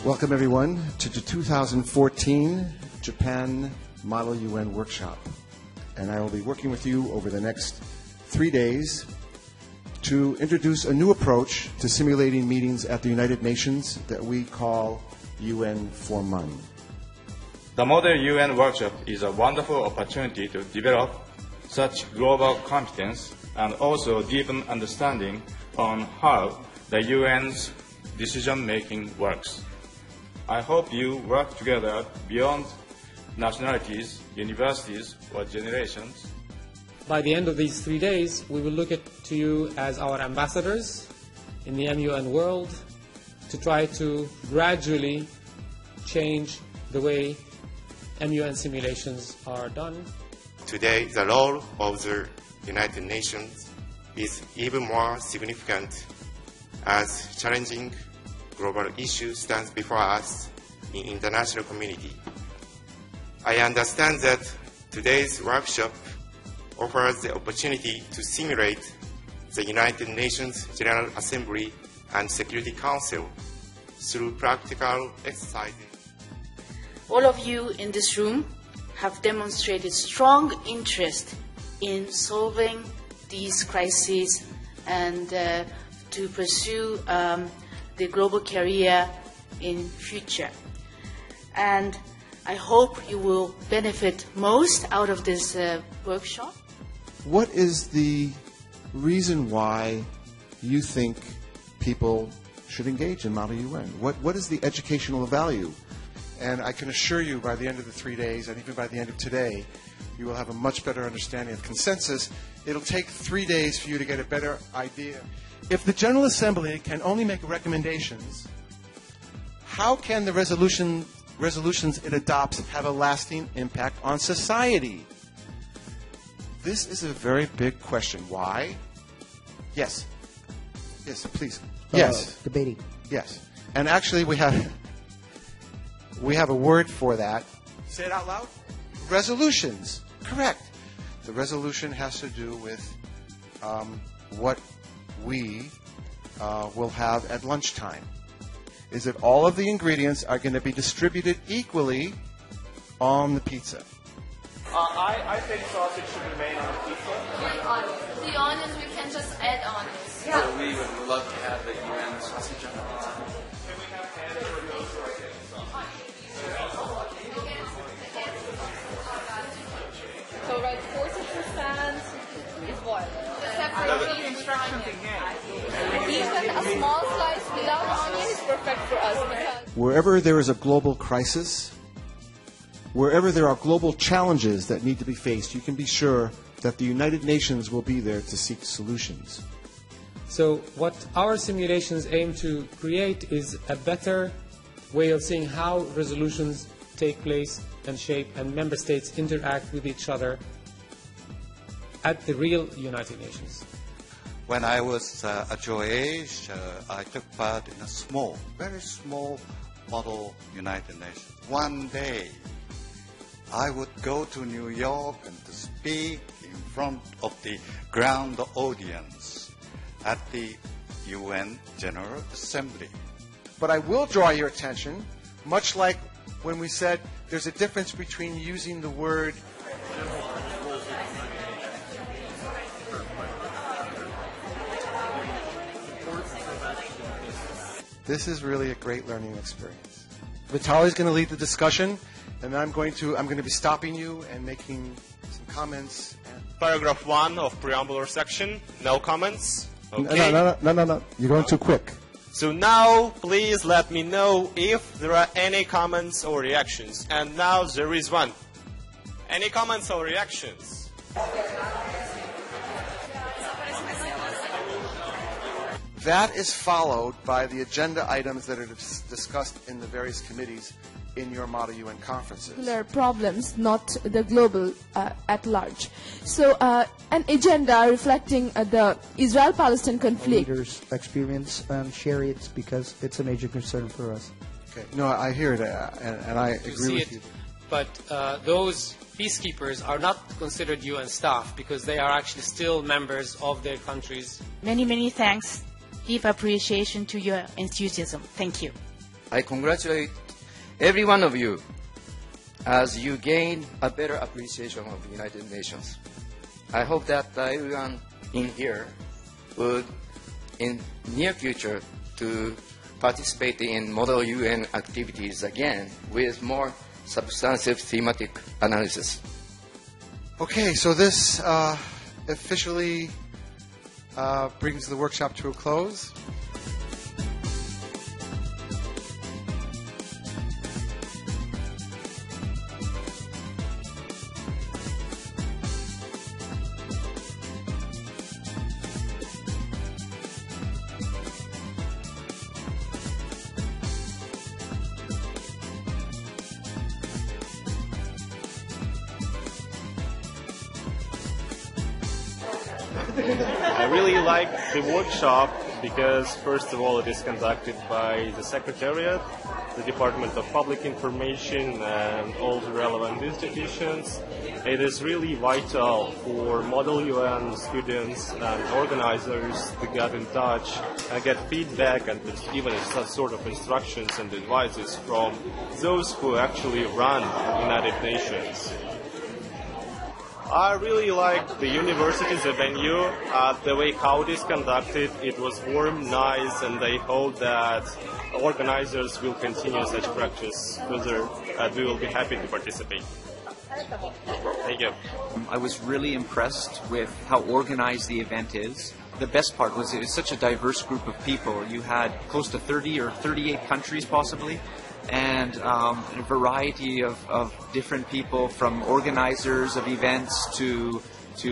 Welcome, everyone, to the 2014 Japan Model UN Workshop. And I will be working with you over the next 3 days to introduce a new approach to simulating meetings at the United Nations that we call UN for MUN. The Model UN Workshop is a wonderful opportunity to develop such global competence and also deepen understanding on how the UN's decision-making works. I hope you work together beyond nationalities, universities, or generations. By the end of these 3 days, we will look to you as our ambassadors in the MUN world to try to gradually change the way MUN simulations are done. Today, the role of the United Nations is even more significant as challenging global issue stands before us in international community. I understand that today's workshop offers the opportunity to simulate the United Nations General Assembly and Security Council through practical exercises. All of you in this room have demonstrated strong interest in solving these crises and to pursue the global career in future. And I hope you will benefit most out of this workshop. What is the reason why you think people should engage in Model UN? What is the educational value? And I can assure you by the end of the 3 days, and even by the end of today, you will have a much better understanding of consensus. It'll take 3 days for you to get a better idea. If the General Assembly can only make recommendations, how can the resolutions it adopts have a lasting impact on society? This is a very big question. Why? Yes. Yes, please. Yes. Debating. Yes. And actually we have a word for that. Say it out loud. Resolutions. Correct. The resolution has to do with what we will have at lunchtime. Is that all of the ingredients are going to be distributed equally on the pizza? I think sausage should be made on a pizza. The onions we can just add onions. Yeah. So we would love to have the UN sausage on the pizza. Can we have hamburgers or So right, 40% is boiled. the instructions again. Even a small slice without onion is perfect for us because Wherever there is a global crisis, wherever there are global challenges that need to be faced, you can be sure that the United Nations will be there to seek solutions. So what our simulations aim to create is a better way of seeing how resolutions take place and shape and member states interact with each other at the real United Nations. When I was at your age, I took part in a small, very small model United Nations. One day, I would go to New York and to speak in front of the ground audience at the UN General Assembly. But I will draw your attention, much like when we said there's a difference between using the word This is really a great learning experience. Vitali's going to lead the discussion, and I'm going to be stopping you and making some comments. Paragraph 1 of preambular section. No comments. Okay. No. You're going too quick. So now, please let me know if there are any comments or reactions. And now there is one. Any comments or reactions? That is followed by the agenda items that are discussed in the various committees in your Model UN conferences. Particular problems, not the global at large. So an agenda reflecting the Israel-Palestine conflict. Leaders experience and share it because it's a major concern for us. Okay. No, I hear that, and I agree with you. But those peacekeepers are not considered UN staff because they are actually still members of their countries. Many, many thanks. Deep appreciation to your enthusiasm. Thank you. I congratulate every one of you as you gain a better appreciation of the United Nations. I hope that everyone in here would, in near future, to participate in Model UN activities again with more substantive thematic analysis. Okay, so this officially brings the workshop to a close. I really like the workshop because, first of all, it is conducted by the Secretariat, the Department of Public Information, and all the relevant institutions. It is really vital for Model UN students and organizers to get in touch and get feedback and even some sort of instructions and advices from those who actually run the United Nations. I really like the university's venue, the way how it is conducted. It was warm, nice, and I hope that organizers will continue such practice further, and we will be happy to participate. Thank you. I was really impressed with how organized the event is. The best part was it was such a diverse group of people. You had close to 30 or 38 countries possibly, and a variety of different people, from organizers of events to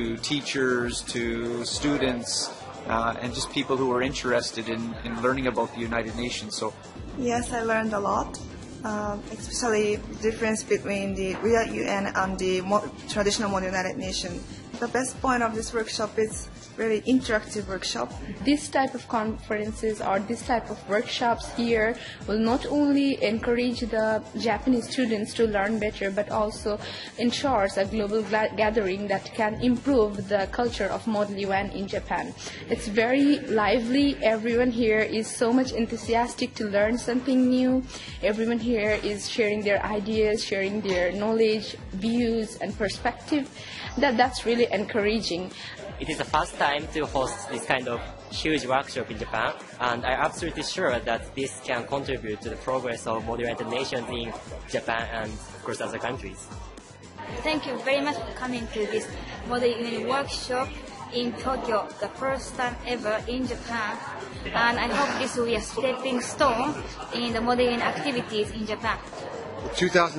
teachers to students, and just people who are interested in learning about the United Nations. So, yes, I learned a lot, especially the difference between the real UN and the traditional model United Nations. The best point of this workshop is really interactive workshop. This type of conferences or this type of workshops here will not only encourage the Japanese students to learn better, but also ensures a global gathering that can improve the culture of Model UN in Japan. It's very lively. Everyone here is so much enthusiastic to learn something new. Everyone here is sharing their ideas, sharing their knowledge, views, and perspective. That's really encouraging. It is the first time to host this kind of huge workshop in Japan, and I'm absolutely sure that this can contribute to the progress of Model United Nations in Japan and, of course, other countries. Thank you very much for coming to this Model UN workshop in Tokyo, the first time ever in Japan, and I hope this will be a stepping stone in the Model UN activities in Japan. The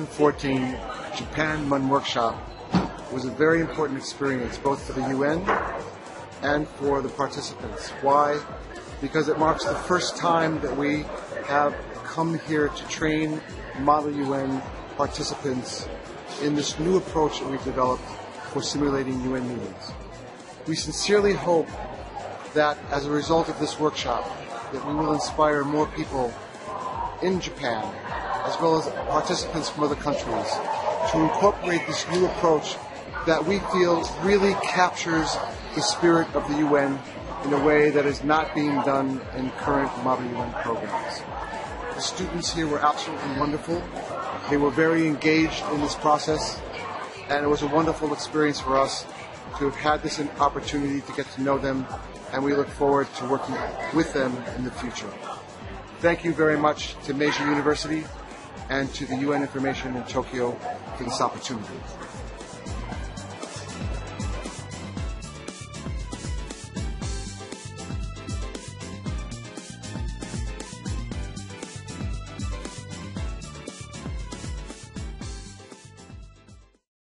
2014 Japan MUN workshop was a very important experience, both for the UN and for the participants. Why? Because it marks the first time that we have come here to train Model UN participants in this new approach that we've developed for simulating UN meetings. We sincerely hope that as a result of this workshop, that we will inspire more people in Japan, as well as participants from other countries, to incorporate this new approach that we feel really captures the spirit of the UN in a way that is not being done in current Model UN programs. The students here were absolutely wonderful. They were very engaged in this process, and it was a wonderful experience for us to have had this opportunity to get to know them, and we look forward to working with them in the future. Thank you very much to Meiji University and to the UN Information in Tokyo for this opportunity.